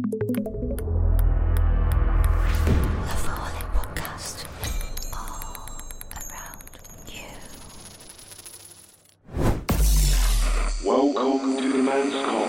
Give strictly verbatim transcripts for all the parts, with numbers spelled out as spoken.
Welcome to the Men's Come。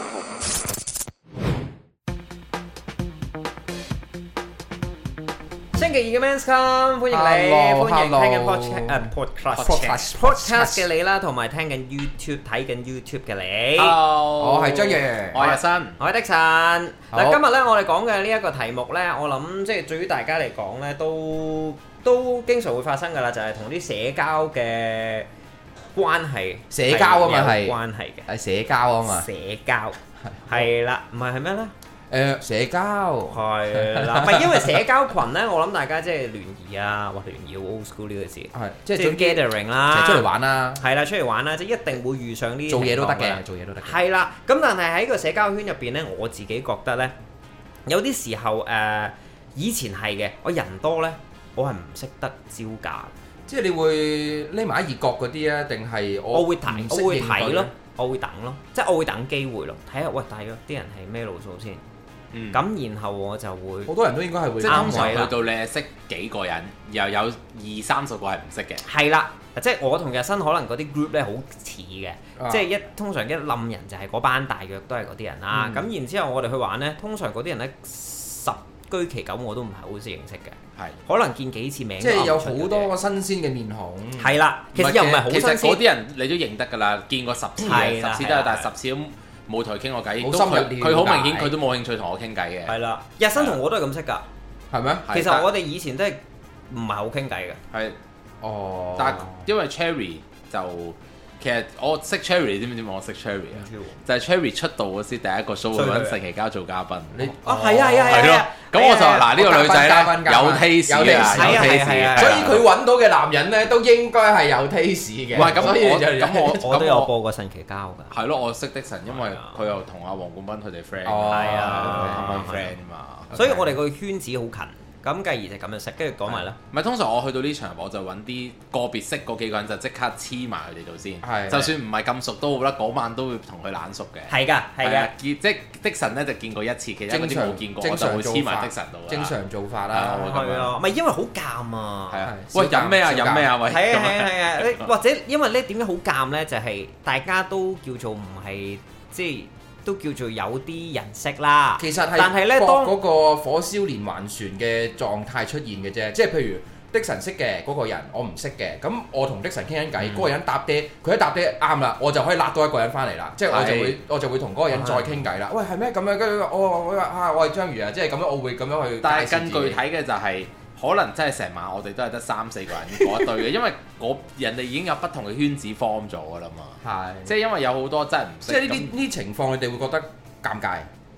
星期二嘅 Men's Come， 歡迎你， Hello, 歡迎 hello. 聽緊 podcast 誒 podcast podcast podcast 嘅你啦，同埋聽緊 YouTube 睇緊 YouTube 嘅你。 Hello，我係張爺， 我係日新， 我係的神。嗱，今日咧我哋講嘅呢一個題目咧，我諗即係對於大家嚟講咧，都都經常會發生㗎啦，就係同啲社交嘅關係， 社交啊嘛係關係嘅， 係社交啊嘛， 社交係啦，唔係係咩咧？ 誒社交係啦，唔係因為社交群咧，我諗大家即係聯誼啊，或聯誼好 old school 呢個字， 係即即係 gathering 啦， 出嚟玩啦， 係啦，出嚟玩啦，即係一定會遇上呢啲做嘢都得嘅，做嘢都得嘅。 係啦，咁但係喺個社交圈入邊咧，我自己覺得咧，有啲時候誒，以前係嘅，我人多咧，我係唔識得招架， 即係你會匿埋喺熱角嗰啲啊，定係我我會睇，我會睇咯，我會等咯，即係我會等機會咯，睇下喂大約啲人係咩路數先。咁、嗯、然後我就會好多人都應該係會即係通常去到你係識幾個人，又有二三十個係唔識嘅。 係啦，即係我同日新可能嗰啲 group 咧好似嘅，啊、即係一通常一冧人就係嗰班，大約都係嗰啲人啦。咁、嗯、然之後我哋去玩咧，通常嗰啲人咧十居其九我都唔係好識認識嘅，係是可能見幾次名。即係有好多新鮮嘅面孔。 係啦，其實又唔係好新鮮。 其實嗰啲人你都認得㗎啦，見過十次嘅，十次都有，但係十次都冇同佢傾過偈，都佢佢好明顯佢都冇興趣同我傾偈嘅。係啦，日新同我都係咁識㗎， 係咩？ 其實我哋以前都係唔係好傾偈嘅。 係， 哦。 但係因為 Cherry 就其實我識 Cherry，你知唔知點解我識 Cherry 啊？就係 Cherry 出道嗰時第一個 show 會揾神奇膠做嘉賓。 你啊係啊係啊係啊！ 咁我就嗱呢個女仔咧有 taste 嘅，有 taste 所以佢揾到嘅男人咧都應該係有 taste 嘅。 唔係咁我咁我我都有播過神奇膠㗎。 係咯，我識的神，因為佢又同阿黃冠斌佢哋 friend。 係啊， 啱啱 friend 嘛。 所以我哋個圈子好近。咁繼而就咁樣識，跟住講埋啦。 唔係通常我去到呢場，我就揾啲個別識嗰幾個人就即刻黐埋佢哋度先。係。就算唔係咁熟都好啦，嗰晚都會同佢懶熟嘅。係㗎，係㗎。見即的神咧就見過一次，其他嗰啲冇見過，我就會黐埋的神度。 正常做法啦。 係啊，唔係因為好尷啊。 係啊。喂，飲咩啊？飲咩啊？喂。 係啊係啊係啊！或者因為咧點解好尷咧？就係大家都叫做唔係即係。都叫做有啲人識啦， 其實係， 但係咧當嗰個火燒連環船嘅狀態出現嘅啫，即係譬如的神識嘅嗰個人，我唔識嘅，咁我同的神傾緊偈，嗰、嗯、個人搭爹，佢一搭爹啱啦，我就可以揦多一個人翻嚟啦，即係我就會是我就會同嗰個人再傾偈啦。喂，係咩咁樣？跟住我我話啊，我係章魚啊，即係咁樣，我會咁樣去。但係更具體嘅就係、是。可能真係成晚我哋都係得三四個人嗰一隊嘅，因為人哋已經有不同嘅圈子 form 咗㗎啦嘛。係是，即係因為有好多真係唔識。即係呢啲呢啲情況，你哋會覺得尷尬？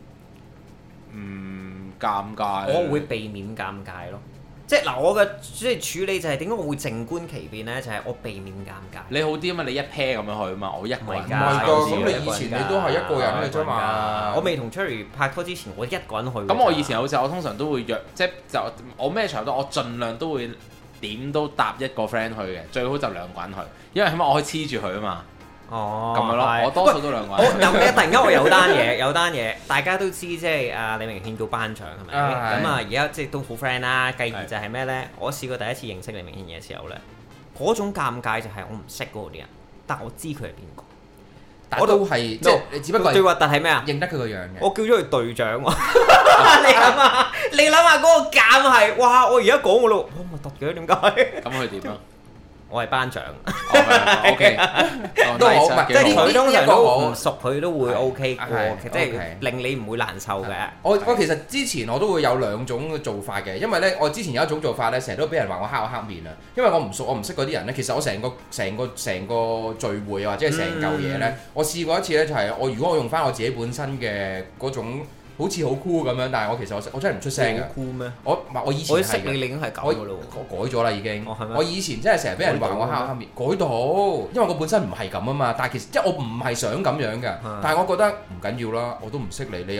嗯，尷尬。 我會避免尷尬咯。即係嗱，我嘅即係處理就係點解我會靜觀其變咧？就係、是、我避免尷尬。 你好啲啊嘛，你一 pair 咁樣去啊嘛，我一個人。唔係㗎，咁你以前你都係一個人嘅啫嘛。 我未同 Cherry 拍拖之前，我一個人去。 咁我以前好似我通常都會約，即係就我咩場都，我盡量都會點都搭一個 friend 去嘅，最好就兩個人去，因為起碼我可以黐住佢啊嘛。哦，咁樣咯，我多數都兩個人。 我突然間我有單嘢，有單嘢，大家都知即係阿李明憲叫班長係咪？咁啊而家即係都好 friend 啦。繼而就係咩咧？我試過第一次認識李明憲嘅時候咧，嗰種尷尬就係我唔識嗰個啲人，但我知佢係邊個。 我都係即係，只不過最核突係咩啊？ 認得佢個樣嘅。 我叫咗佢隊長喎。你諗下，你諗下嗰個尷係，哇！我而家講我咯，我咪突嘅點解？ 咁佢點啊？ 我係班長 ，O K， 都好，即係佢通常都唔熟，佢都會 O K 過，即係令你唔會難受嘅。 我我其實之前我都會有兩種做法嘅，因為咧我之前有一種做法咧，成日都俾人話我黑口黑面啊，因為我唔熟，我唔識嗰啲人咧。其實我成個成個成個聚會啊，或者係成嚿嘢咧，我試過一次咧，就係我如果我用翻我自己本身嘅嗰種。好似好酷咁樣，但係我其實我我真係唔出聲嘅。 酷咩？ 我唔係我以前係。我識你，你已經係咁嘅咯。 我改咗啦已經。 哦係咩？ 我以前真係成日俾人話我黑口黑面，改到，因為我本身唔係咁啊嘛。但係其實即係我唔係想咁樣嘅，但係我覺得唔緊要啦，我都唔識你，你又唔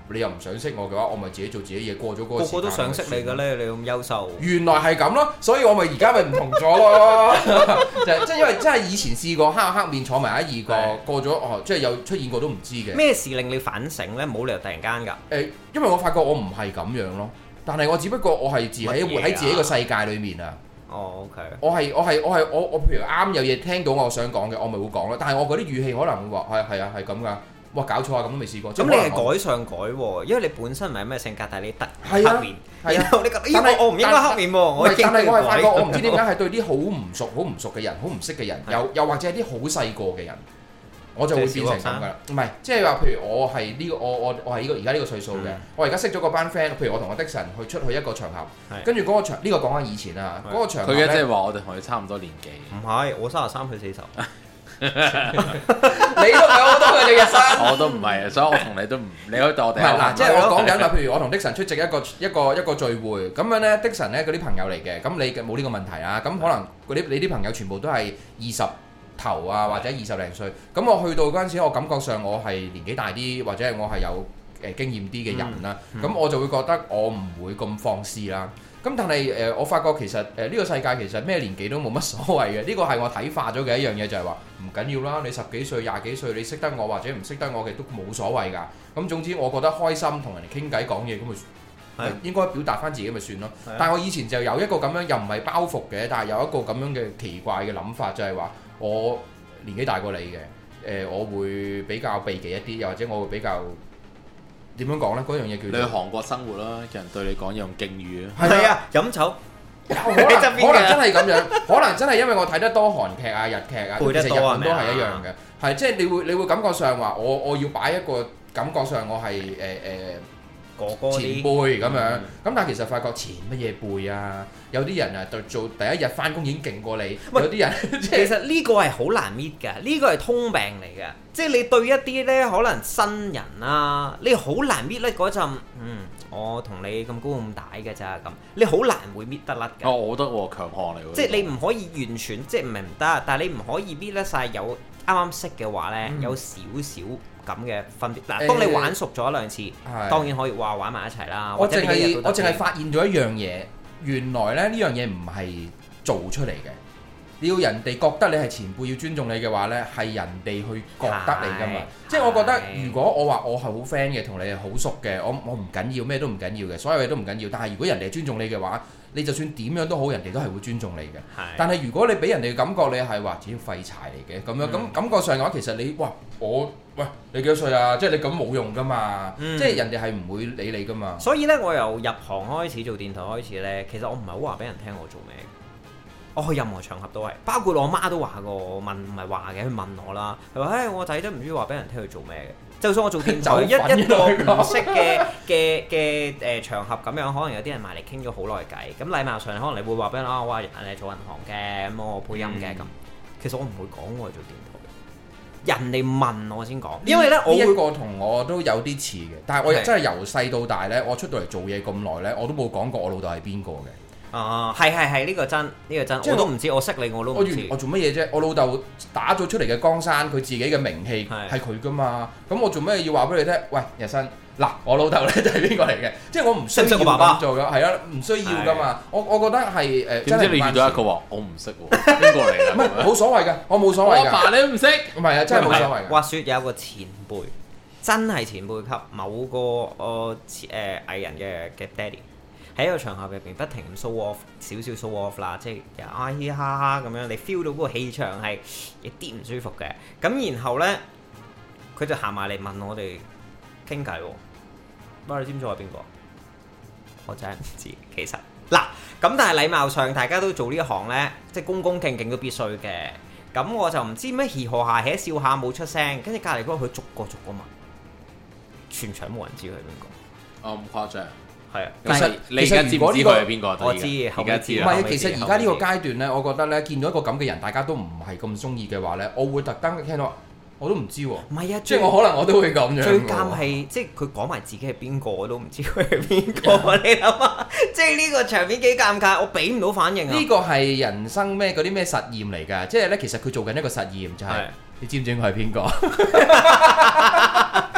你又唔想識我嘅話，我咪自己做自己嘢，過咗嗰個時間。 個個都想識你嘅咧，你咁優秀。 原來係咁咯，所以我咪而家咪唔同咗咯。就即係因為真係以前試過黑黑面坐埋一二個，過咗哦，即係有出現過都唔知嘅。 咩事令你反省咧？冇理由突然間㗎。誒， 因為我發覺我唔係咁樣咯，但係我只不過我係自喺活喺自己個世界裡面啊。 哦 OK。 我係我係我係我我譬如啱有嘢聽到我想講嘅，我咪會講咯。但係我嗰啲語氣可能會話係係啊係咁㗎。哇！搞錯啊，咁都未試過。咁你係改上改喎，因為你本身唔係咩性格，但係你得黑面。 係啊， 你覺得我唔應該黑面喎。我但係我係發覺我唔知點解係對啲好唔熟、好唔熟嘅人、好唔識嘅人，又又或者係啲好細個嘅人，我就會變成咁㗎啦。唔係，即係話譬如我係呢個我我我係呢個而家呢個歲數嘅，我而家識咗個班 friend，譬如我同阿的神去出去一個場合，跟住嗰個場呢個講緊以前啊，嗰個場合咧， 佢嘅即係話我哋同佢差唔多年紀。 唔係，我三十三，佢四十。 你都唔係好多嘅你嘅生， 我都唔係啊，所以我同你都唔，你可以當我哋唔係嗱，即係我講緊話，譬如我同的神出席一個一個一個聚會，咁樣咧，的神咧嗰啲朋友嚟嘅，咁你冇呢個問題啊，咁可能嗰啲你啲朋友全部都係二十頭啊，或者二十零歲，咁我去到嗰陣時，我感覺上我係年紀大啲，或者係我係有誒經驗啲嘅人啦，咁、嗯嗯、我就會覺得我唔會咁放肆啦。咁但係誒、呃，我發覺其實誒呢、呃這個世界其實咩年紀都冇乜所謂嘅，呢、這個係我睇化咗嘅一樣嘢，就係話唔緊要啦，你十幾歲、廿幾歲，你識得我或者唔識得我嘅都冇所謂㗎。咁總之我覺得開心同人哋傾偈講嘢咁咪應該表達翻自己咪算咯。的但係我以前就有一個咁樣又唔係包袱嘅，但係有一個咁樣嘅奇怪嘅諗法，就係、是、話我年紀大過你嘅，誒、呃、我會比較避忌一啲，又或者我會比較。點樣講呢？嗰樣嘢叫你去韓國生活啦，人對你講用敬語啊。 係啊，飲酒。 可能可能真係咁樣，可能真係因為我睇得多韓劇啊、日劇啊，其實日本都係一樣嘅。係即係你會你會感覺上話我我要擺一個感覺上我係誒誒哥哥前輩咁樣。咁但係其實發覺前乜嘢輩啊？有啲人啊，就做第一日翻工已經勁過你。有啲人其實呢個係好難搣㗎，呢個係通病嚟㗎。即係你對一啲咧可能新人啊，你好難搣甩嗰陣，嗯，我同你咁高咁大嘅咋咁，你好難會搣得甩嘅。 哦，我覺得喎強項嚟喎。 即係你唔可以完全，即係唔係唔得，但係你唔可以搣甩晒有啱啱識嘅話咧，嗯、有少少咁嘅分別。嗱，當你玩熟咗一兩次，欸、當然可以話玩埋一齊啦。 我淨係我淨係發現咗一樣嘢，原來咧呢樣嘢唔係做出嚟嘅。你要人哋覺得你係前輩，要尊重你嘅話呢，係人哋去覺得你噶嘛。即係我覺得，如果我話我係好 friend 嘅，同你係好熟嘅，我我唔緊要，咩都唔緊要嘅，所有嘢都唔緊要。但係如果人哋尊重你嘅話，你就算點樣都好，人哋都係會尊重你嘅。但係如果你俾人哋嘅感覺你係話自己廢柴嚟嘅咁樣，咁、嗯、感覺上嘅話，其實你哇我喂你幾多歲啊？即係你咁冇用噶嘛。嗯、即係人哋係唔會理你噶嘛。 所以呢，我由入行開始做電台開始呢，其實我唔係好話俾人聽我做咩。我去任何場合都係，包括我媽都話過，我問唔係話嘅，佢問我啦，佢話：唉，我仔都唔知話俾人聽佢做咩嘅。就算我做電台一一個唔識嘅嘅嘅誒場合咁樣，可能有啲人埋嚟傾咗好耐偈。咁禮貌上可能你會話俾人啊，我話人哋做銀行嘅，咁我配音嘅咁。嗯、其實我唔會講我係做電台，人哋問我先講。因為咧，我呢個同我都有啲似嘅，但係我真係由細到大咧，我出到嚟做嘢咁耐咧，我都冇講過我老豆係邊個嘅。 啊，係係係，呢個真，呢個真，我都唔知，我識你我都唔知。 我做乜嘢啫？我老豆打咗出嚟嘅江山，佢自己嘅名氣係佢噶嘛。咁我做咩要話俾你聽？喂，日新，嗱，我老豆咧就係邊個嚟嘅？即係我唔需要咁做噶，係啊，唔需要噶嘛。我我覺得係誒， 點知你遇到一個話我唔識喎，邊個嚟㗎？ 唔係冇所謂㗎，我冇所謂㗎。 我阿爸你都唔識， 唔係啊，真係冇所謂。 話説有個前輩，真係前輩級，某個誒誒藝人嘅嘅爹哋。喺一個場合入邊不停 show off 少少 show off 啦，即係啊嘻哈哈咁樣，你 feel 到嗰個氣場係有啲唔舒服嘅。咁然後咧，佢就行埋嚟問我哋傾偈喎。不過你知唔知我係邊個？我真係唔知。其實嗱，咁但係禮貌上大家都做呢一行咧，即係恭恭敬敬都必須嘅。咁我就唔知咩兒何下起笑下冇出聲，跟住隔離嗰個佢逐個逐個問，全場冇人知佢係邊個。 哦，咁誇張。 係啊， 其實你而家知唔知佢係邊個？ 我知， 而家知。 唔係，其實而家呢個階段咧，我覺得咧，見到一個咁嘅人，大家都唔係咁中意嘅話咧，我會特登聽到，我都唔知喎。唔係啊， 即係我可能我都會咁樣。 最尷係即係佢講埋自己係邊個，我都唔知佢係邊個。你諗下，即係呢個場面幾尷尬，我俾唔到反應啊！ 呢個係人生咩嗰啲咩實驗嚟㗎？即係咧，其實佢做緊一個實驗，就係你知唔知佢係邊個？ 呢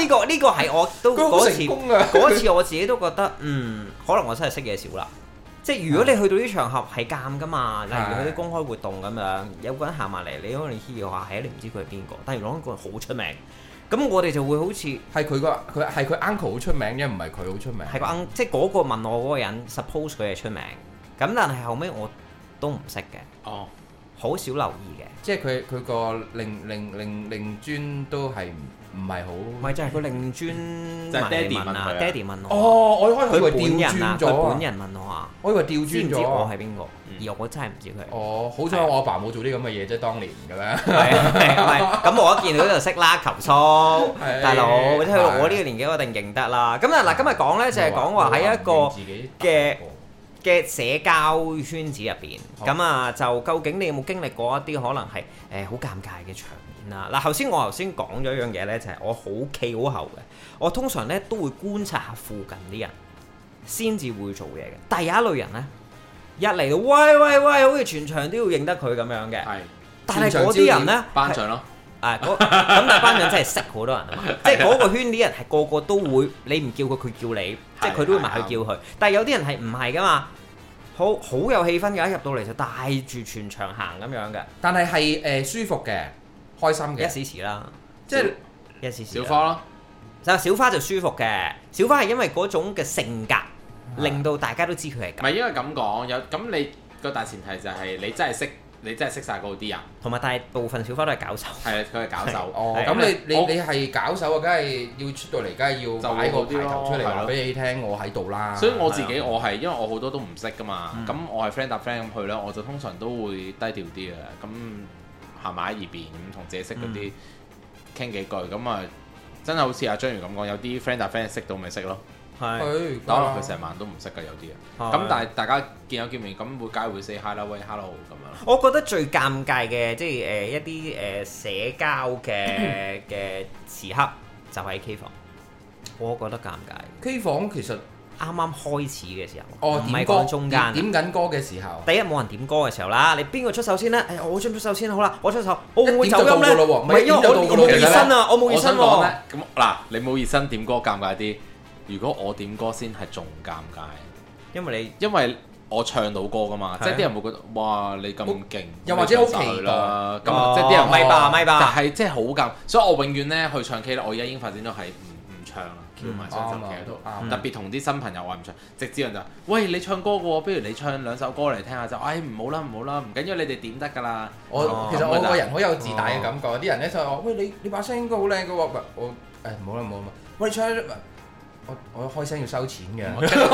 呢個呢個係我都嗰次嗰次我自己都覺得嗯，可能我真係識嘢少啦。即係如果你去到啲場合係尷㗎嘛，例如去啲公開活動咁樣，有個人行埋嚟，你可能嘻話係你唔知佢係邊個，但係講一個好出名，咁我哋就會好似係佢個佢係佢 uncle 好出名，因為唔係佢好出名。係個 uncle，即係嗰個問我嗰個人 suppose 佢係出名，咁但係後尾我都唔識嘅。哦，好少留意嘅。即係佢佢個令令令令尊都係唔係好？唔係就係佢令尊就係爹哋問啊，爹哋問我。哦，我開頭以為調轉咗。佢本人問我啊，我以為調轉咗。知唔知我係邊個？而我真係唔知佢。哦，好彩我阿爸冇做啲咁嘅嘢啫，當年咁樣。係係係。咁我一見到就識啦，球叔大佬，即係我呢個年紀我一定認得啦。咁啊嗱，今日講咧就係講話喺一個嘅嘅社交圈子入邊，咁啊就究竟你有冇經歷過一啲可能係誒好尷尬嘅場面啦？嗱，頭先我頭先講咗一樣嘢咧，就係我好企好後嘅，我通常咧都會觀察下附近啲人先至會做嘢嘅。但係有一類人咧，一嚟到喂喂喂，好似全場都要認得佢咁樣嘅。係，但係嗰啲人咧，班長咯。啊，咁但係班長真係識好多人啊嘛，即係嗰個圈啲人係個個都會，你唔叫佢，佢叫你，即係佢都會埋去叫佢。但係有啲人係唔係噶嘛，好好有氣氛嘅，一入到嚟就帶住全場行咁樣嘅。但係係誒舒服嘅，開心嘅。一時時啦，即係一時時。小花咯，就小花就舒服嘅，小花係因為嗰種嘅性格，令到大家都知佢係咁。唔係應該咁講，有咁你個大前提就係你真係識。你真係識晒嗰啲人，同埋大部分小花都係搞手。係啊，佢係搞手。哦，咁你你你係搞手啊，梗係要出到嚟，梗係要擺個牌頭出嚟話俾你聽，我喺度啦。所以我自己我係因為我好多都唔識噶嘛，咁我係 friend 搭 friend 咁去咧，我就通常都會低調啲嘅，咁行埋喺一邊咁同自己識嗰啲傾幾句，咁啊真係好似阿章魚咁講，有啲 friend 搭 friend 識到咪識咯。係，可能佢成晚都唔識㗎，有啲人。咁但係大家見有見面，咁會梗係會 say hi 啦，喂 hello 咁樣。我覺得最尷尬嘅，即係誒一啲誒社交嘅嘅時刻，就喺 K 房。我覺得尷尬。K 房其實啱啱開始嘅時候，哦，唔係講中間點緊歌嘅時候。第一冇人點歌嘅時候啦，你邊個出手先咧？誒，我出唔出手先？好啦，我出手，我會唔會走音咧？唔係，因為我我冇熱身啊，我冇熱身喎。咁嗱，你冇熱身點歌尷尬啲。如果我點歌先係仲尷尬，因為你因為我唱到歌噶嘛，即係啲人會覺得哇你咁勁，又或者好期待啦，咁即係啲人咪吧咪吧，但係即係好尷，所以我永遠咧去唱 K 咧，我而家已經發展到係唔唔唱啦，翹埋雙手企喺度，特別同啲新朋友話唔唱，直接人就喂你唱歌嘅喎，不如你唱兩首歌嚟聽下就，唉唔好啦唔好啦，唔緊要你哋點得㗎啦。我其實我個人好有自大嘅感覺，啲人咧就話喂你你把聲應該好靚嘅喎，我誒唔好啦唔好啦，喂你唱。我我開聲要收錢嘅，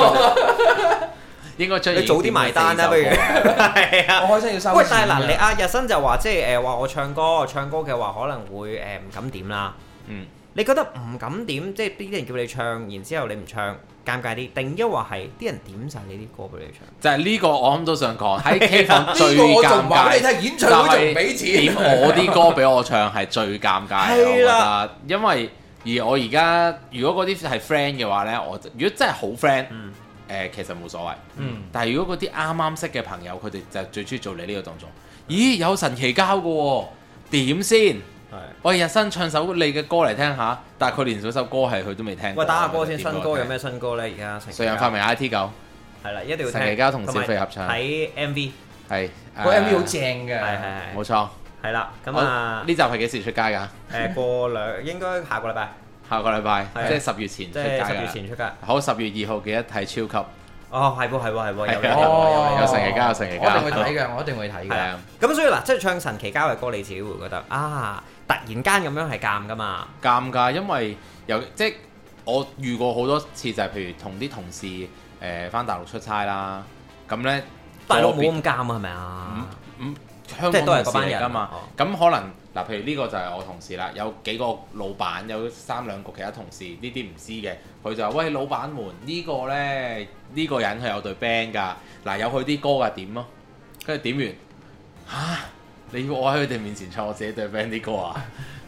應該將你早啲埋單啦，不如係啊！我開聲要收錢。喂，但係嗱，你阿日新就話即係誒話我唱歌，唱歌嘅話可能會誒唔敢點啦。嗯，你覺得唔敢點，即係啲人叫你唱，然之後你唔唱，尷尬啲，定抑或係啲人點晒你啲歌俾你唱？就係呢個我諗都想講喺 K 房最尷尬。你睇演唱會仲唔俾錢？點我啲歌俾我唱係最尷尬，我覺得，因為。而我而家如果嗰啲係 friend 嘅話呢，我如果真係好 friend，誒、嗯呃、其實冇所謂。嗯、但係如果嗰啲啱啱識嘅朋友，佢哋就最中意做你呢個動作。咦，有神奇交嘅喎，點先？是我日新唱首你嘅歌嚟聽下，但係佢連嗰首歌係佢都未聽過。喂，打下歌先，新歌有咩新歌呢？而家誰人發明 I T 九？係啦，一定要聽。神奇交同小飛合唱。睇 M V。係。個 M V 好正嘅。係係係。冇錯。係啦，咁啊，呢集係幾時出街㗎？誒，過兩應該下個禮拜，下個禮拜，即係十月前出街㗎。十月前出街。好，十月二號記得睇超級。哦，係喎，係喎，係喎，有有有神奇交，有神奇交，我一定會睇嘅，我一定會睇嘅。咁所以嗱，即係唱神奇交嘅歌，你自己會覺得啊，突然間咁樣係尷㗎嘛？尷尬，因為有即係我遇過好多次，就係譬如同啲同事誒返大陸出差啦，咁咧大陸冇咁尷啊，係咪啊？嗯。香港都係嗰班人㗎嘛，咁、哦、可能嗱，譬如呢個就係我同事啦，有幾個老闆，有三兩個其他同事，呢啲唔知嘅，佢就話：喂，老闆們，呢、呢個咧，呢、呢個人係有隊 band 㗎，嗱有佢啲歌㗎，點咯？跟住點完嚇、啊，你要我喺佢哋面前唱我自己隊 band 啲歌啊？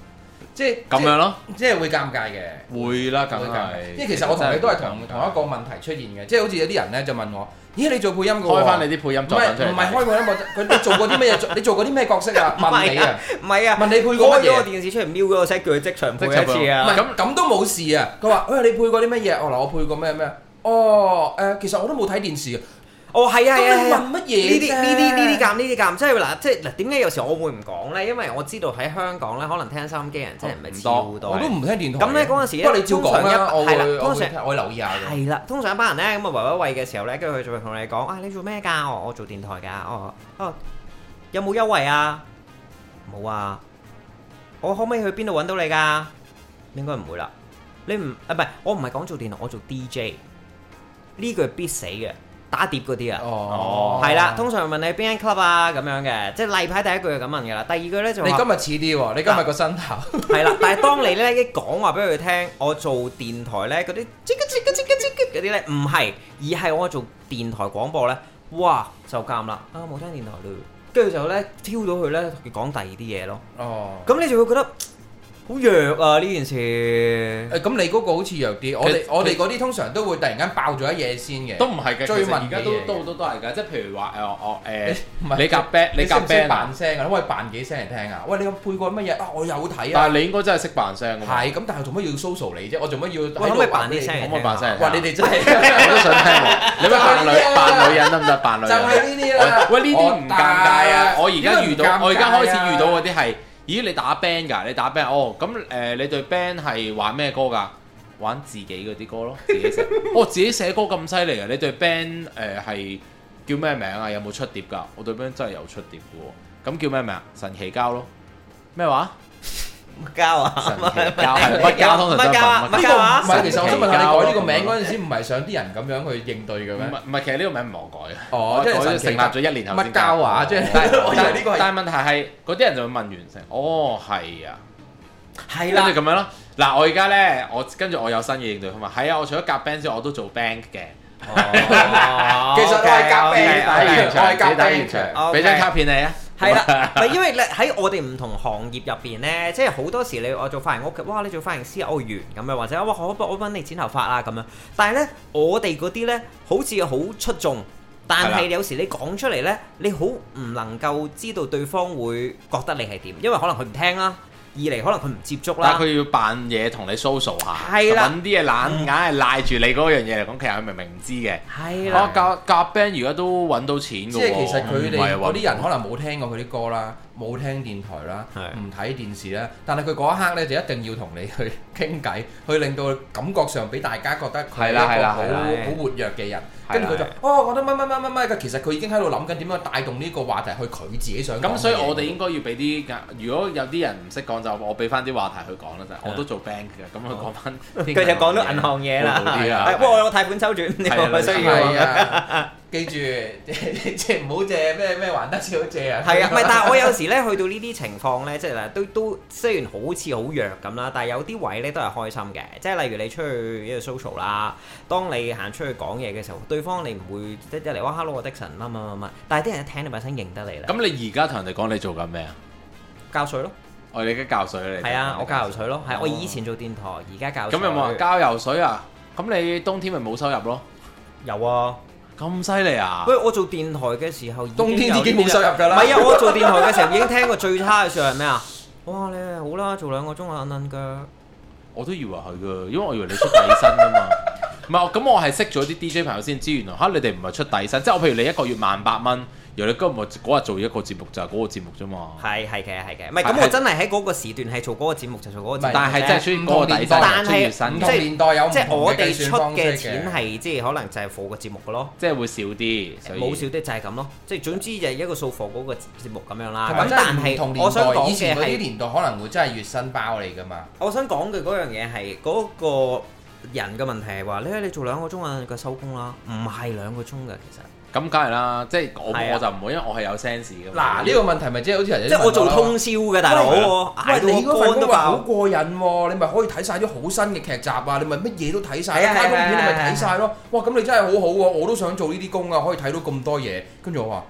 即係咁樣咯， 即係會尷尬嘅。 會啦，梗係。 因為其實我同你都係同同一個問題出現嘅，即係好似有啲人咧就問我。咦，你做配音嘅喎？開翻你啲配音作品出嚟。唔係唔係開配音，我佢你做過啲咩嘢？你做過啲咩角色啊？問你啊， 唔係啊， 問你配過乜嘢？ 開咗個電視出嚟，瞄嗰個聲，叫佢即場配一次啊。 唔係咁咁都冇事啊。佢話：誒，你配過啲乜嘢？哦嗱，我配過咩咩？哦誒，其實我都冇睇電視。哦，係啊係啊，問乜嘢？ 呢啲呢啲呢啲尷呢啲尷，即係嗱，即係嗱，點解有時我會唔講咧？因為我知道喺香港咧，可能聽收音機人真係唔係超多。 我都唔聽電台。 咁咧嗰陣時咧， 不過你照講啦，我會通常我會留意下嘅。 係啦，通常一班人咧咁啊，圍圍圍嘅時候咧，跟住佢就會同你講：啊，你做咩㗎？我我做電台㗎。哦哦，有冇優惠啊？冇啊。我可唔可以去邊度揾到你㗎？應該唔會啦。你唔啊唔係，我唔係講做電台，我做 D J。呢句係必死嘅。打碟嗰啲啊，哦，係啦，通常問你邊間 club 啊咁樣嘅，即係例牌第一句就咁問㗎啦，第二句咧就話你今日似啲喎，你今日個身頭係啦，但係當你咧一講話俾佢聽，我做電台咧嗰啲吱吱吱吱吱嗰啲咧唔係，而係我做電台廣播咧，哇就尷啦，啊冇聽電台咯，跟住就咧挑到佢咧講第二啲嘢咯，哦，咁你就會覺得。好弱啊！呢件事誒咁你嗰個好似弱啲，我哋我哋嗰啲通常都會突然間爆咗一嘢先嘅， 都唔係嘅。追問而家都都好多都係㗎，即係譬如話誒我誒你夾 band 你夾 band 扮聲啊，可唔可以扮幾聲嚟聽啊？喂，你有配過乜嘢啊？我有睇啊！ 但係你應該真係識扮聲㗎嘛？ 係咁，但係做乜要 social 你啫？我做乜要可唔可以扮啲聲？ 可唔可以扮聲？ 哇！你哋真係我都想聽喎。你咪扮女扮女人得唔得？扮女人就係呢啲啦。 喂，呢啲唔尷尬啊！我而家遇到我而家開始遇到嗰啲係。咦，你打 band 㗎？你打 band 哦，咁誒、呃，你對 band 係玩咩歌㗎？玩自己嗰啲歌咯，自己寫。哦，自己寫歌咁犀利啊！你對 band 誒係叫咩名啊？有冇出碟㗎？我對 band 真係有出碟嘅喎。咁叫咩名啊？神奇膠咯。咩話？ 乜膠啊？ 神奇膠係乜膠？通常都係乜膠啊？ 唔係，其實我想問下你改呢個名嗰陣時，唔係想啲人咁樣去應對嘅咩？ 唔係唔係，其實呢個名唔係我改嘅。 哦，即係成立咗一年後先。 乜膠啊？即係， 但係問題係嗰啲人就會問完成，哦係啊， 係啦， 跟住咁樣咯。嗱，我而家咧，我跟住我有新嘅應對方法。係啊，我除咗夾 band 之外，我都做 band 嘅。 其實我係夾 band，我係夾 band， 俾張卡片你啊！ 係啦，唔係因為咧喺我哋唔同行業入邊咧，即係好多時你我做髮型屋嘅，哇！你做髮型師我完咁樣，或者哇我我幫你剪頭髮啊咁樣。但係咧，我哋嗰啲咧好似好出眾，但係有時你講出嚟咧，你好唔能夠知道對方會覺得你係點，因為可能佢唔聽啦。二嚟可能佢唔接觸啦， 但係佢要扮嘢同你 social 下，揾啲嘢懶硬係賴住你嗰樣嘢嚟講，其實佢明明唔知嘅。係啦，夾夾 band 而家都揾到錢㗎喎。 即係其實佢哋嗰啲人可能冇聽過佢啲歌啦，冇聽電台啦，唔睇電視啦，但係佢嗰一刻咧就一定要同你去傾偈，去令到感覺上俾大家覺得佢係一個好好活躍嘅人。跟住佢就哦，我覺得乜乜乜乜乜，其實佢已經喺度諗緊點樣帶動呢個話題去佢自己想講。 咁所以我哋應該要俾啲，如果有啲人唔識講就我俾翻啲話題去講啦，就係我都做 bank 嘅，咁佢講翻。佢就講到銀行嘢啦。不過我有貸款周轉，你係咪需要啊？ 記住，即係唔好借咩咩還得少借啊！ 係啊，唔係，但係我有時咧去到呢啲情況咧，即係嗱，都都雖然好似好弱咁啦，但係有啲位咧都係開心嘅。即係例如你出去一個 social 啦，當你行出去講嘢嘅時候，對方你唔會一嚟哇 hello 我的神乜乜乜乜，但係啲人一聽你把聲認得你啦。 咁你而家同人哋講你做緊咩啊？ 教水咯。 我哋而家教水啦，你係啊，我教游水咯，係我以前做電台，而家教水。 咁有冇人教游水啊？咁你冬天咪冇收入咯？ 有啊。 咁犀利啊！ 喂，我做電台嘅時候， 冬天已經冇收入㗎啦。 唔係啊，我做電台嘅時候已經聽過最差嘅説話係咩啊？哇，你係好啦，做兩個鐘啊，撚㗎。我都以為係㗎，因為我以為你出底薪㗎嘛。唔係，咁我係識咗啲 D J 朋友先知，原來嚇你哋唔係出底薪，即係我譬如你一個月萬八蚊。由你今日嗰日做一個節目就係嗰個節目啫嘛， 係係嘅係嘅，唔係咁我真係喺嗰個時段係做嗰個節目就做嗰個節目， 但係即係出嗰個底薪， 但係即係年代有唔同嘅計算方式嘅，即係我哋出嘅錢係即係可能就係貨個節目嘅咯， 即係會少啲， 冇少啲就係咁咯，即係總之就係一個數貨嗰個節目咁樣啦。 咁但係我想講嘅係嗰啲年代可能會真係月薪包你㗎嘛。 我想講嘅嗰樣嘢係嗰個人嘅問題係話咧，你做兩個鐘啊嘅收工啦，唔係兩個鐘㗎其實。 咁梗係啦，即係我我就唔會，因為我係有 sense 嘅。 嗱，呢個問題咪即係好似人哋即係我做通宵嘅大佬， 喂，你嗰份工話好過癮喎，你咪可以睇晒啲好新嘅劇集啊，你咪乜嘢都睇晒，卡通片你咪睇晒咯。哇，咁你真係好好喎，我都想做呢啲工啊，可以睇到咁多嘢。跟住我話，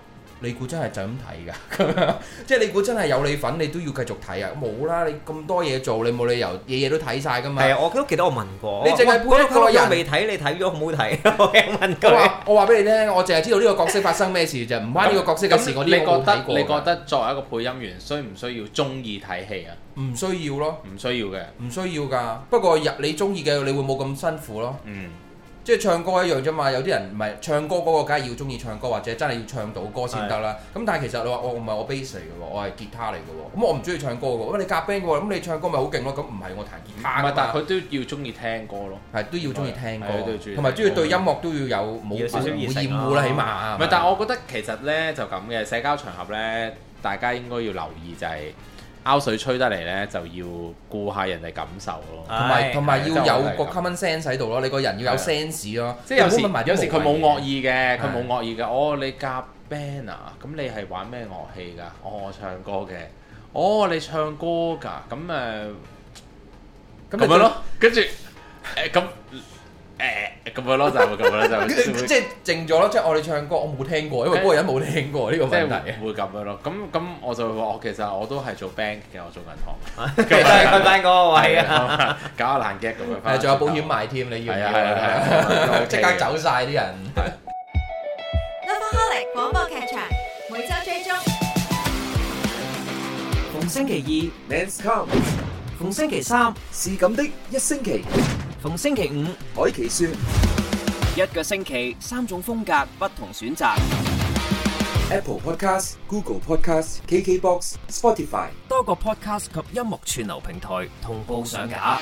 你估真係就咁睇㗎？即係你估真係有你份，你都要繼續睇啊？冇啦，你咁多嘢做，你冇理由嘢嘢都睇晒㗎嘛。係啊， 我都記得我問過。 你淨係配一個人未睇，你睇咗好唔好睇？我有問過。 我話我話俾你聽，我淨係知道呢個角色發生咩事就唔關呢個角色嘅事。我啲我冇睇過。 你覺得作為一個配音員，需唔需要中意睇戲啊？ 唔需要咯， 唔需要嘅， 唔需要㗎。不過入你中意嘅，你會冇咁辛苦咯。嗯。即係唱歌一樣啫嘛，有啲人唔係唱歌嗰個，梗係要中意唱歌，或者真係要唱到歌先得啦。咁但係其實你話我唔係我 bass 嚟嘅喎，我係吉他嚟嘅喎。咁我唔中意唱歌嘅喎，咁你夾 band 嘅喎，咁你唱歌咪好勁咯？咁唔係我彈吉他。 唔係，但係佢都要中意聽歌咯。係都要中意聽歌，同埋中意對音樂都要有冇少少厭惡啦，起碼。 唔係，但係我覺得其實咧就咁嘅社交場合咧，大家應該要留意就係。拗水吹得嚟呢，就要顧下人哋感受咯， 同埋同埋要有個 common sense 喺度咯，你個人要有 sense 咯。 即係有時有時佢冇惡意嘅，佢冇惡意嘅。哦，你夾 band 啊？咁你係玩咩樂器㗎？哦，我唱歌嘅。哦，你唱歌㗎？咁誒，咁樣咯。跟住誒咁。誒咁樣咯，就係咁樣咯，就即係靜咗咯。即係我哋唱歌，我冇聽過，因為嗰個人冇聽過呢個問題。 會咁樣咯。咁咁我就會話，我其實我都係做 bank 嘅，我做銀行。 其實係佢 bank 嗰個位啊， 搞下爛 gag 咁樣。 係，仲有保險賣添，你要唔要？即刻走晒啲人。 Lovaholic 廣播劇場每週追蹤， 逢星期二 Men's Come， 逢星期三是咁的一星期。 逢星期五， 海奇說一個星期三種風格，不同選擇。 Apple Podcast、Google Podcast、K K Box、Spotify 多個 podcast 及音樂串流平台同步上架。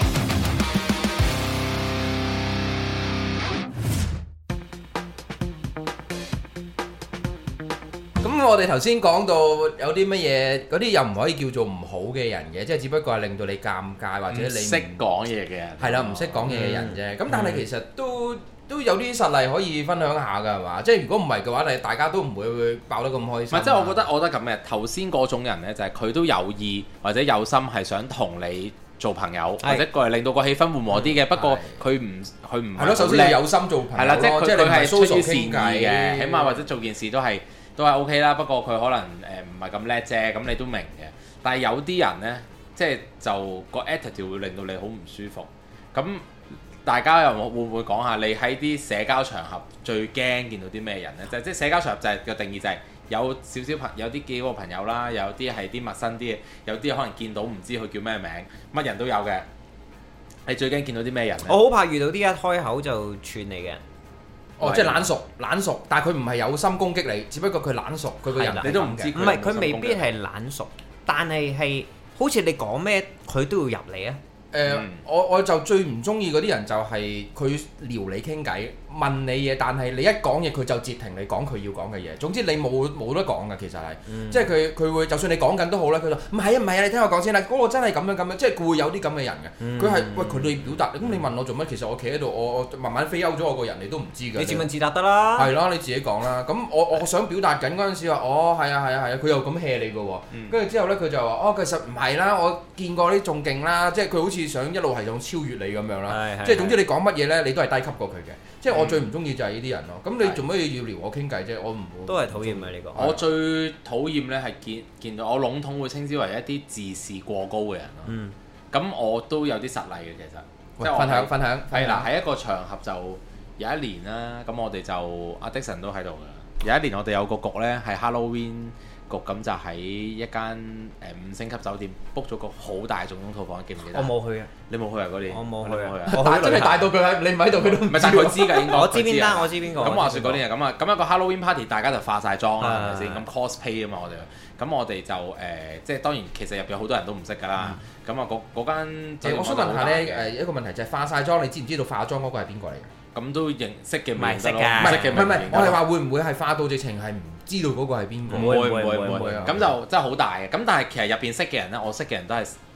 咁我哋頭先講到有啲乜嘢，嗰啲又唔可以叫做唔好嘅人嘅，即係只不過係令到你尷尬或者你唔識講嘢嘅人， 係啦，唔識講嘢嘅人啫。咁、嗯、但係其實都都有啲實例可以分享下㗎，係嘛？即係如果唔係嘅話，你大家都唔會會爆得咁開心。 唔係，即係我覺得，我覺得咁嘅頭先嗰種人呢，就係、是、佢都有意或者有心係想同你做朋友，或者過嚟令到個氣氛緩和啲嘅。不過佢唔佢唔係咯，首先有心做朋友，係啦，即係佢佢係出於善意嘅，起碼或者做件事都係。都係 OK 啦，不過佢可能誒唔係咁叻啫，咁、呃、你都明嘅。但係有啲人呢，即係就個 attitude 會令到你好唔舒服。咁大家又會唔會講下，你喺啲社交場合最驚見到啲咩人呢？就係、即係社交場合就係、係、個定義就係有少少朋有啲幾個朋友啦，有啲係啲陌生啲嘅，有啲可能見到唔知佢叫咩名，乜人都有嘅。你最驚見到啲咩人呢？ 我好怕遇到啲一開口就串你嘅。 哦，即係懶熟，懶熟，但係佢唔係有心攻擊你，只不過佢懶熟，佢個人你都唔知。 唔係，佢未必係懶熟，但係係好似你講咩，佢都要入嚟啊！ 誒、呃嗯，我我就最唔中意嗰啲人就係佢撩你傾偈，問你嘢，但係你一講嘢佢就截停你講佢要講嘅嘢。總之你冇冇得講㗎，其實係，嗯、即係佢佢會就算你講緊都好啦，佢就唔係啊唔係啊，你聽我講先啦，嗰、嗰個真係咁樣咁樣，即係佢會有啲咁嘅人嘅。佢係、嗯、喂佢哋表達，咁你問我做乜？其實我企喺度，我我慢慢飛歐咗我個人，你都唔知㗎。 你自問自答得啦。 係啦，你自己講啦。咁我我想表達緊嗰陣時話，哦係啊係啊係啊，佢又咁 hea 你㗎喎。跟住、嗯、之後咧，佢就話哦其實唔係啦，我見過啲仲勁啦，即係佢好似想一路係咁。超越你咁樣啦，即係總之你講乜嘢呢，你都係低級過佢嘅。即係我最唔中意就係呢啲人咯。咁你做乜嘢要撩我傾偈啫？我唔會。 都係討厭嘅呢個。 我最討厭呢係見見到我籠統會稱之為一啲自視過高嘅人咯。嗯。咁我都有啲實例嘅其實。 即係分享分享。 係啦，喺一個場合就有一年啦，咁我哋就阿的神都喺度㗎。有一年我哋有個局呢係 Halloween。咁就喺一間誒五星級酒店 book 咗個好大總統套房，記唔記得？ 我冇去啊！ 你冇去啊？嗰年我冇去啊！ 我真係帶到佢喺，你唔喺度佢都唔知。 但佢知㗎，應該我知邊單，我知邊個。 咁話説嗰年係咁啊，咁一個 Halloween party，大家就化晒妝啦，係咪先？咁 cosplay 啊嘛，我哋。咁我哋就誒，即係當然其實入邊好多人都唔識㗎啦。咁啊，嗰嗰間我想問下咧，誒一個問題就係化晒妝，你知唔知道化妝嗰個係邊個嚟？ 咁都認識嘅， 唔係識㗎， 唔係唔係，我係話會唔會係化到直情係唔知道嗰個係邊個？ 唔會唔會唔會，咁就真係好大嘅。咁但係其實入邊識嘅人咧，我識嘅人都係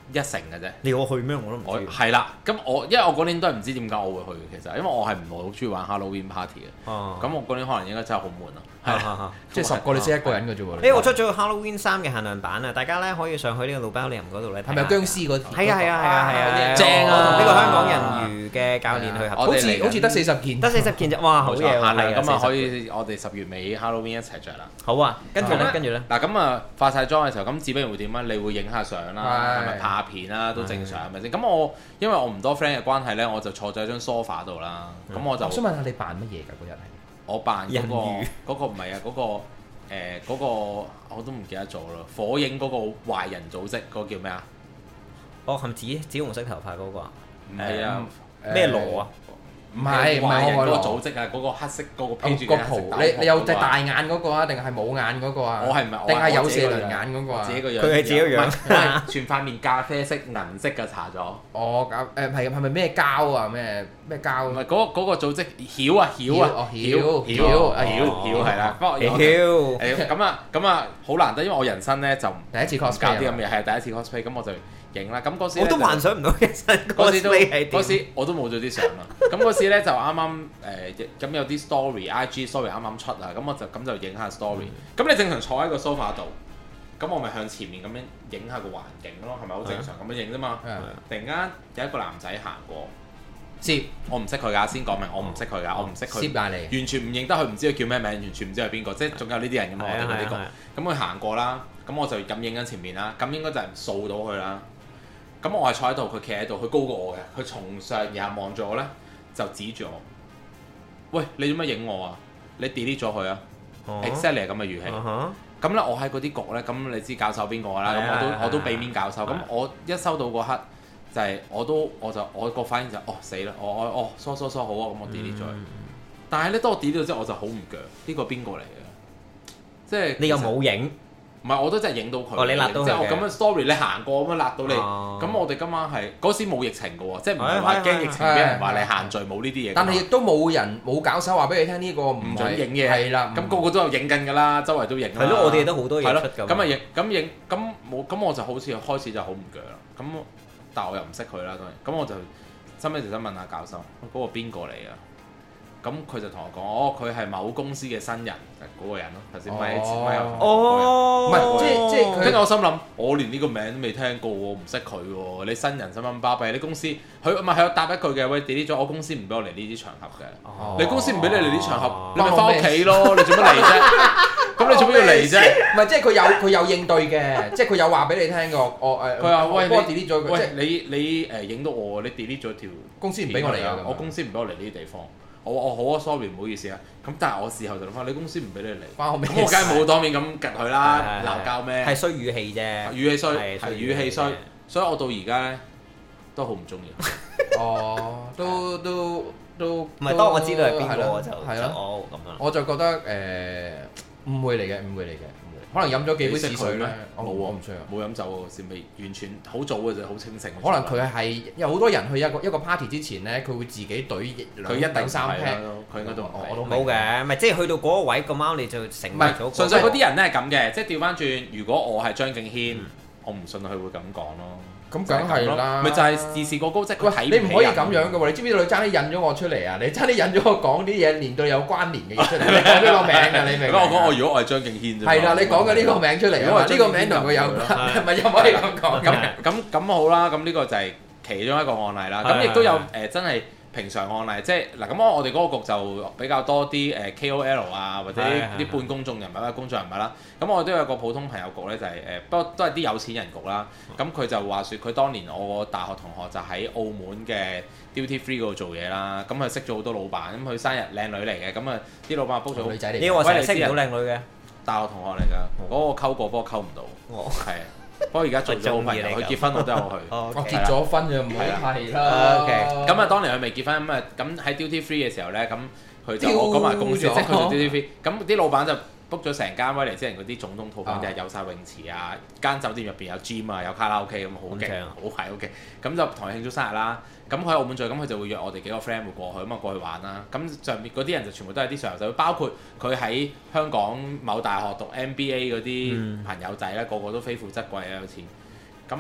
一成嘅啫。 你我去咩？我都唔知。 係啦，咁我因為我嗰年都係唔知點解我會去嘅，其實因為我係唔係好中意玩 Halloween party 嘅。哦。咁我嗰年可能應該真係好悶啊。 係即係十個你識一個人嘅啫喎。 誒，我出咗個 Halloween 三嘅限量版啊！大家咧可以上去呢個 Nobel 嗰度咧。係咪殭屍嗰啲？ 係啊係啊係啊係啊！ 正啊！ 同呢個香港人魚嘅教練去合作。 好似好似得四十件。 得四十件啫！哇，好嘢喎！ 限量咁啊，可以我哋十月尾 Halloween 一齊着啦。 好啊，跟住咧，跟住咧。 嗱咁啊，化晒妝嘅時候，咁子不然會點啊？你會影下相啦，係咪拍下片啦，都正常係咪先？咁我因為我唔多 friend 嘅關係咧，我就坐咗喺張 sofa 度啦。咁我就我想問下你扮乜嘢㗎嗰日係？ 我扮嗰個嗰個唔係啊，嗰個誒嗰個我都唔記得咗啦。火影嗰個壞人組織嗰個叫咩啊？ 哦，係咪紫紫紅色頭髮嗰個啊？ 唔係啊， 咩羅啊？ 唔係唔係壞人嗰個組織啊，嗰個黑色嗰個披住嘅黑色。 你你有隻大眼嗰個啊，定係冇眼嗰個啊？ 我係唔係？ 定係有射輪眼嗰個啊？ 自己個樣。 佢係自己個樣。 全塊面咖啡色銀色嘅搽咗。 哦，搞誒係係咪咩膠啊？咩咩膠？ 唔係嗰嗰個組織曉啊曉啊曉曉啊曉曉係啦。不過曉誒咁啊咁啊好難得，因為我人生咧就第一次 cosplay 搞啲咁嘅嘢，係第一次 cosplay，咁我就影啦。咁嗰時我都幻想唔到其實嗰時都嗰時我都冇咗啲相啦。咁嗰時咧就啱啱誒咁有啲 story，I G story 啱啱出啊，咁我就咁就影下 story。咁你正常坐喺個 sofa 度，咁我咪向前面咁樣影下個環境咯，係咪好正常咁樣影啫嘛？突然間有一個男仔行過，攝我唔識佢㗎，先講明我唔識佢㗎，我唔識佢， 攝埋嚟， 完全唔認得佢，唔知佢叫咩名，完全唔知係邊個，即係總有呢啲人㗎嘛，我哋嗰啲個。咁佢行過啦，咁我就咁影緊前面啦，咁應該就係掃到佢啦。咁我係坐喺度，佢企喺度，佢高過我嘅，佢從上而下望住我咧，就指住我，喂，你做乜影我啊？你 delete 咗佢啊 ！exactly 係咁嘅語氣。咁咧，我喺嗰啲局咧，咁你知教授邊個啦？咁我都我都俾面教授。咁我一收到嗰刻就係我都我就我個反應就哦死啦！我我哦疏疏疏好啊！咁我 delete 咗佢。但係咧，當我 delete 咗之後，我就好唔腳。呢個邊個嚟嘅？即係你又冇影？ 唔係，我都真係影到佢。 哦，你辣到佢嘅。 即係我咁樣 story，你行過咁樣辣到你。咁我哋今晚係嗰時冇疫情嘅喎，即係唔係話驚疫情俾人話你限聚冇呢啲嘢。 但係亦都冇人冇搞手話俾你聽呢個唔準影嘢。 係啦， 咁個個都有影緊㗎啦，周圍都影。 係咯，我哋都好多嘢出㗎。 咁啊影，咁影，咁冇，咁我就好似開始就好唔腳啦。咁但係我又唔識佢啦，當然。咁我就收尾就想問下教授，嗰個邊個嚟啊？咁佢就同我講，哦，佢係某公司嘅新人，就係嗰個人咯。頭先咪咪有哦， 唔係即係即係佢。 跟住我心諗，我連呢個名都未聽過喎，唔識佢喎。你新人新聞巴閉，你公司佢唔係佢有答一句嘅，喂 delete 咗，我公司唔俾我嚟呢啲場合嘅。你公司唔俾你嚟呢啲場合，你咪翻屋企咯。你做乜嚟啫？咁你做咩要嚟啫？ 唔係即係佢有佢有應對嘅，即係佢有話俾你聽嘅。我誒， 佢話喂， 你 delete 咗佢， 喂你你誒影到我，你 delete 咗條公司唔俾我嚟啊！ 我公司唔俾我嚟呢啲地方。我我好啊 ，sorry 唔好意思啊。咁但係我事後就諗翻，你公司唔俾你嚟，咁我梗係冇當面咁趌佢啦，鬧交咩？ 係衰語氣啫， 語氣衰，係語氣衰，所以我到而家咧都好唔中意。 哦，都都都唔係當我知道係邊個我就係咯， 哦咁樣。 我就覺得誒誤會嚟嘅，誤會嚟嘅。可能飲咗幾杯屎水咧，我冇我唔需要， 冇飲酒喎，先未完全好早嘅啫，好清醒。 可能佢係有好多人去一個一個 party 之前咧，佢會自己懟兩兩三 pack， 佢應該都我都冇嘅，咪即係去到嗰個位咁啱你就成為咗。 純粹嗰啲人咧係咁嘅，即係調翻轉，如果我係張敬軒，我唔信佢會咁講咯。 咁梗係啦， 咪就係自視過高，即係佢睇唔起人。 你唔可以咁樣嘅喎，你知唔知道你爭啲引咗我出嚟啊？你爭啲引咗我講啲嘢連到有關聯嘅嘢出嚟，你講呢個名啊？你明？ 我講我如果我係張敬軒啫。係啦，你講嘅呢個名出嚟，因為呢個名同佢有關，係咪又可以咁講？ 咁咁咁好啦，咁呢個就係其中一個案例啦。咁亦都有誒真係平常案例，即係嗱咁我哋嗰個局就比較多啲誒 K O L 啊，或者啲半公眾人物啦、公眾人物啦。咁我都有個普通朋友局咧，就係誒不過都係啲有錢人局啦。咁佢就話説佢當年我個大學同學就喺澳門嘅 Duty Free 嗰度做嘢啦。咁佢識咗好多老闆，咁佢生日靚女嚟嘅，咁啊啲老闆 book 咗女仔嚟。 你話成日識唔到靚女嘅？ 大學同學嚟㗎，嗰個溝過，不過溝唔到。哦，係啊。不過而家做咗好朋友，佢結婚我都有去。 我結咗婚就唔係係啦。 OK，咁啊，當年佢未結婚咁啊，咁喺 Duty Free 嘅時候咧，咁佢就我講埋公司，即係佢做 Duty Free。咁啲老闆就 book 咗成間威尼斯人嗰啲總統套房，就係有晒泳池啊，間酒店入邊有 gym 啊，有卡拉 OK 咁好勁，好係 OK。咁就同佢慶祝生日啦。咁佢喺澳門做，咁佢就會約我哋幾個 friend 會過去，咁啊過去玩啦。咁上面嗰啲人就全部都係啲上流社會，包括佢喺香港某大學讀 M B A 嗰啲朋友仔咧，個個都非富則貴啊，有錢。咁咧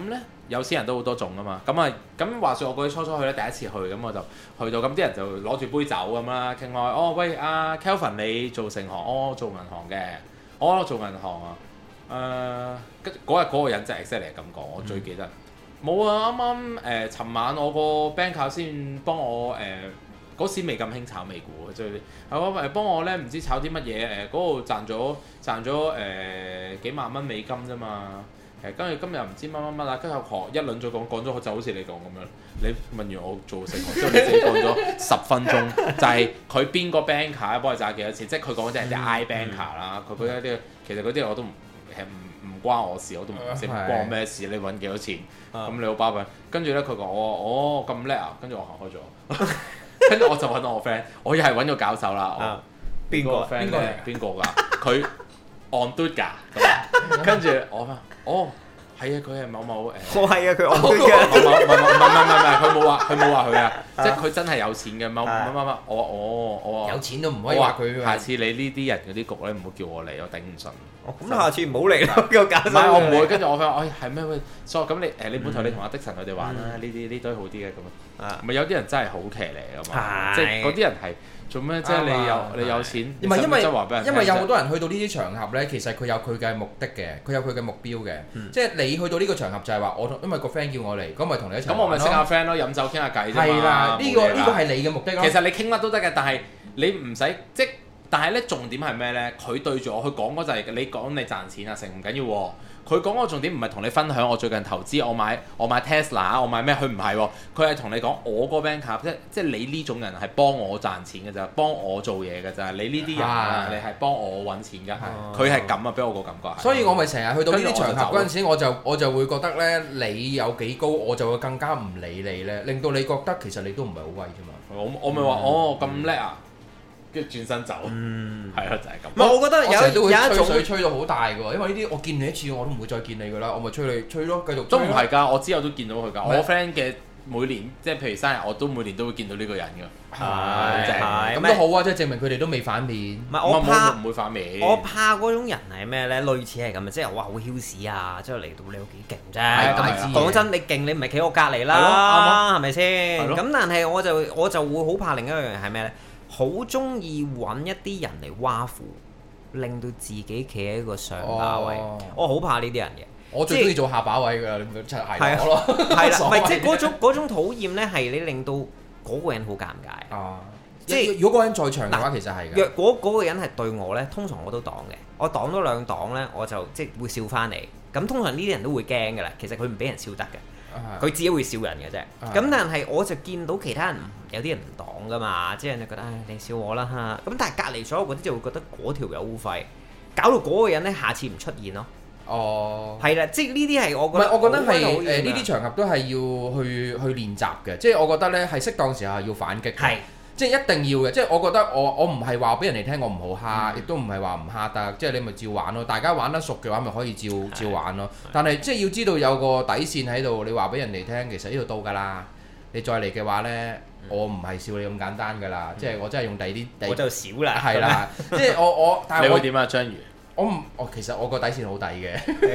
有錢人都好多種啊嘛。咁啊咁話說我嗰啲初初去咧，第一次去咁我就去到，咁啲人就攞住杯酒咁啦，傾開哦喂阿、啊、Kelvin 你做盛行，我、哦、做銀行嘅，我、哦、做銀行啊。誒跟嗰日嗰個人就 exactly 咁講，我最記得。冇、嗯、啊，啱啱誒尋晚我個 banker 先幫我誒。呃嗰時未咁興炒美股，最係我誒幫我咧，唔知炒啲乜嘢誒，嗰度賺咗賺咗誒、呃、幾萬蚊美金啫嘛。誒跟住今日唔知乜乜乜啦，跟住學一輪再講講咗，就好似你講咁樣。你問完我做成行之後，你自己講咗十分鐘，就係佢邊個 banker 幫佢賺幾多錢，即係佢講嘅係啲 I banker 啦。佢嗰啲其實嗰啲我都唔係唔唔關我事，我都唔識關我咩事。你揾幾多錢咁你好巴閉。跟住咧佢講我哦咁叻啊，跟住我行開咗。跟住我就揾到我 friend， 我又係揾個搞手啦。邊個 friend 咧？邊個㗎？佢 on do 㗎。跟住我話：哦，係啊，佢係某某誒。 我係啊，佢 on do 㗎。 某某唔係唔係唔係唔係，佢冇話佢冇話佢啊，即係佢真係有錢嘅。某某某某，我我我有錢都唔可以話佢。 下次你呢啲人嗰啲局咧，唔好叫我嚟，我頂唔順。 咁下次唔好嚟啦，個搞手。 唔係我唔會，跟住我 friend 話：哎係咩喂？所以咁你誒你本頭你同阿的神佢哋玩啦，呢啲呢堆好啲嘅咁啊。唔係有啲人真係好騎呢㗎嘛，即係嗰啲人係做咩？即係你有你有錢， 唔係因為因為有好多人去到呢啲場合咧，其實佢有佢嘅目的嘅，佢有佢嘅目標嘅。即係你去到呢個場合就係話我同因為個 friend 叫我嚟，咁咪同你一齊。 咁我咪識下 friend 咯，飲酒傾下偈啫嘛。 係啦，呢個呢個係你嘅目的咯。 其實你傾乜都得嘅，但係你唔使即。但係咧，重點係咩咧？佢對住我，佢講嗰就係你講你賺錢啊，成唔緊要喎。佢講個重點唔係同你分享我最近投資，我買我買 Tesla，我買咩？佢唔係喎，佢係同你講我個 banker，即即係你呢種人係幫我賺錢嘅咋，幫我做嘢嘅咋。你呢啲人啊，你係幫我揾錢㗎。佢係咁啊，俾我個感覺係。所以我咪成日去到呢啲場合嗰陣時，我就我就會覺得咧，你有幾高，我就會更加唔理你咧，令到你覺得其實你都唔係好威啫嘛。 我我咪話哦咁叻啊！跟住轉身走，嗯，係啊，就係咁。 唔係，我覺得有都會吹水吹到好大嘅喎，因為呢啲我見你一次我都唔會再見你㗎啦，我咪吹你吹咯，繼續吹。 都唔係㗎，我之後都見到佢㗎。我 friend 嘅每年即係譬如生日，我都每年都會見到呢個人㗎。 係係， 咁都好啊，即係證明佢哋都未反面。 唔係我怕唔會反面。 我怕嗰種人係咩咧？類似係咁啊，即係哇好囂屎啊！之後嚟到你有幾勁啫。講真，你勁你唔係企我隔離啦，係咪先？咁但係我就我就會好怕另一樣嘢係咩咧？好中意揾一啲人嚟挖苦，令到自己企喺一個上把位。哦、我好怕呢啲人嘅。 我最中意做下把位㗎，你咪出係我咯。 係啦，唔係即係嗰種嗰種討厭咧，係你令到嗰個人好尷尬。 啊，即係如果嗰個人在場嘅話，其實係嘅。 若果嗰個人係對我咧，通常我都擋嘅。我擋多兩擋咧，我就即係會笑翻嚟。咁通常呢啲人都會驚㗎啦。其實佢唔俾人笑得嘅。佢自己會笑人嘅啫，咁、uh, 但係我就見到其他人有啲人唔擋噶嘛，即係你覺得唉你笑我啦嚇，咁但係隔離所有嗰啲就會覺得嗰條友好廢，搞到嗰個人咧下次唔出現咯。哦，係啦，即係呢啲係我覺得， 唔係我覺得係誒呢啲場合都係要去去練習嘅，即係我覺得咧係適當時候要反擊。係。即係一定要嘅，即係我覺得我我唔係話俾人哋聽我唔好蝦，亦都唔係話唔蝦得，即係你咪照玩咯。大家玩得熟嘅話，咪可以照照玩咯。但係即係要知道有個底線喺度，你話俾人哋聽，其實呢度到㗎啦。你再嚟嘅話咧，我唔係笑你咁簡單㗎啦，即係我真係用第二啲。我就少啦。係啦，即係我我。但係你會點啊，章魚？ 我唔，我其實我個底線好低嘅。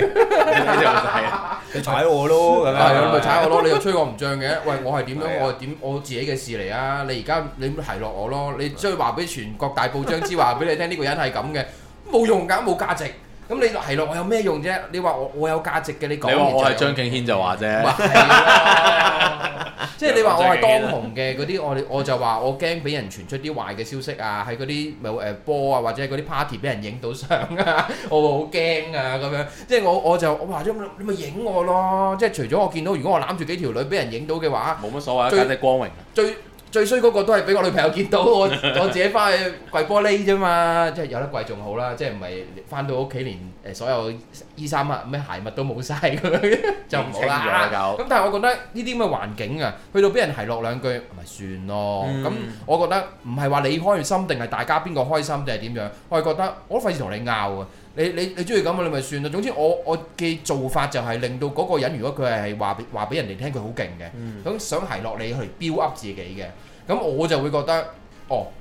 你踩我咯，咁樣。 係啊，你咪踩我咯，你又吹我唔漲嘅。喂，我係點樣？我係點？我自己嘅事嚟啊！你而家你係落我咯，你將話俾全國大報章知，話俾你聽呢個人係咁嘅，冇用㗎，冇價值。咁你係落我有咩用啫？你話我我有價值嘅，你講。 你話我係張敬軒就話啫。 即係你話我係當紅嘅嗰啲，我我就話我驚俾人傳出啲壞嘅消息啊，喺嗰啲咪誒波啊，或者係嗰啲 party 俾人影到相啊，我會好驚啊咁樣。即係我我就我話咗你咪影我咯。即係除咗我見到，如果我攬住幾條女俾人影到嘅話， 冇乜所謂，簡直光榮。 最最衰嗰個都係俾我女朋友見到，我我自己翻去跪玻璃啫嘛，即係有得跪仲好啦，即係唔係翻到屋企連誒所有衣衫啊咩鞋襪都冇晒咁樣就唔好啦。咁但係我覺得呢啲咁嘅環境啊，去到俾人奚落兩句咪算咯。咁、嗯、我覺得唔係話你開心定係大家邊個開心定係點樣，我係覺得我都費事同你拗啊。你你你中意咁啊，你咪算啦。總之我我嘅做法就係令到嗰個人，如果佢係話話俾人哋聽佢好勁嘅，咁、嗯、想奚落你去標 up 自己嘅，咁我就會覺得，哦，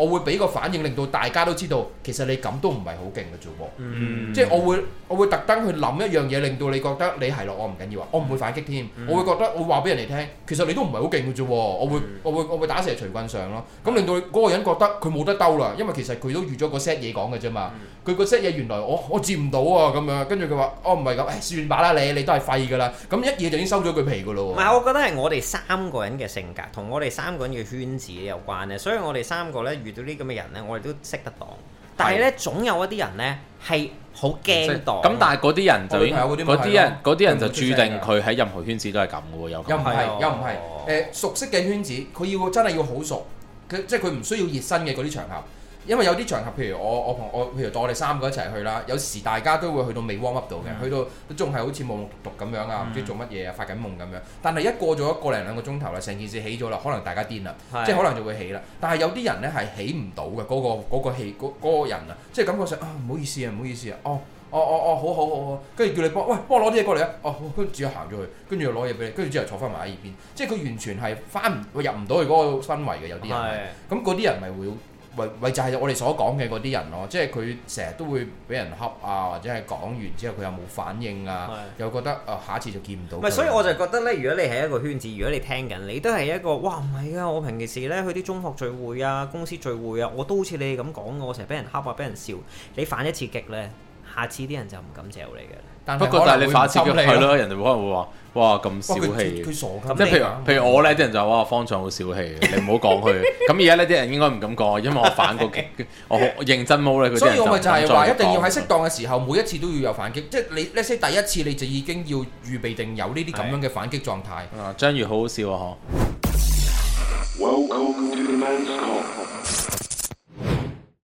我會俾個反應令到大家都知道，其實你咁都唔係好勁嘅啫喎。嗯、即係我會我會特登去諗一樣嘢，令到你覺得你係咯，我唔緊要啊，我唔會反擊添。嗯、我會覺得我話俾人哋聽，其實你都唔係好勁嘅啫喎。我會、嗯、我會我會打蛇隨棍上咯。咁令到嗰個人覺得佢冇得兜啦，因為其實佢都預咗個 set 嘢講嘅啫嘛。佢個 set 嘢原來我我接唔到啊咁樣，跟住佢話哦唔係咁，誒算吧啦你你都係廢㗎啦。咁一嘢就已經收咗佢皮㗎咯喎。唔係， 我覺得係我哋三個人嘅性格同我哋三個人嘅圈子有關嘅，所以我哋三個咧遇到呢咁嘅人咧，我哋都識得擋。但係咧，總有一啲人咧係好驚擋。咁但係嗰啲人就已經嗰啲人嗰啲人就注定佢喺任何圈子都係咁嘅喎，又又唔係又唔係誒熟悉嘅圈子，佢要真係要好熟，佢即係佢唔需要熱身嘅嗰啲場合。因為有啲場合，譬如我我同我，譬如當我哋三個一齊去啦，有時大家都會去到未 warm up 到嘅，嗯、去到都仲係好似冇讀咁樣啊，唔、嗯、知做乜嘢啊，發緊夢咁樣。但係一過咗一個零兩個鐘頭啦，成件事起咗啦，可能大家癲啦，是即係可能就會起啦。但係有啲人咧係起唔到嘅，嗰、嗰個嗰、嗰個氣嗰、嗰個人啊，即係感覺上啊唔好意思啊唔好意思啊，哦哦哦哦好好好好，跟住叫你幫，喂幫我攞啲嘢過嚟啊，哦跟住之後行咗去，跟住又攞嘢俾你，跟住之後坐翻埋喺耳邊，即係佢完全係翻唔入唔到去嗰個氛圍嘅，有啲人，咁嗰啲人咪會。為為就係我哋所講嘅嗰啲人咯，即係佢成日都會俾人恰啊，或者係講完之後佢又冇反應啊，是的 又覺得啊、呃、下一次就見唔到。唔係， 所以我就覺得咧，如果你係一個圈子，如果你聽緊，你都係一個哇唔係啊！我平時咧去啲中學聚會啊、公司聚會啊，我都好似你哋咁講嘅，我成日俾人恰啊、俾人笑。你反一次擊咧，下次啲人就唔敢嚼你嘅。但不過但係你反一次擊係咯，人哋可能會話。哇咁小氣， 佢傻㗎！ 即係譬如譬如我咧，啲人就話哇方丈好小氣，你唔好講佢。咁而家呢啲人應該唔敢講，因為我反過擊，我好認真冇咧。 所以我咪就係話一定要喺適當嘅時候，每一次都要有反擊。即係你，let's say第一次你就已經要預備定有呢啲咁樣嘅反擊狀態。 啊，章魚好好笑啊！嗬。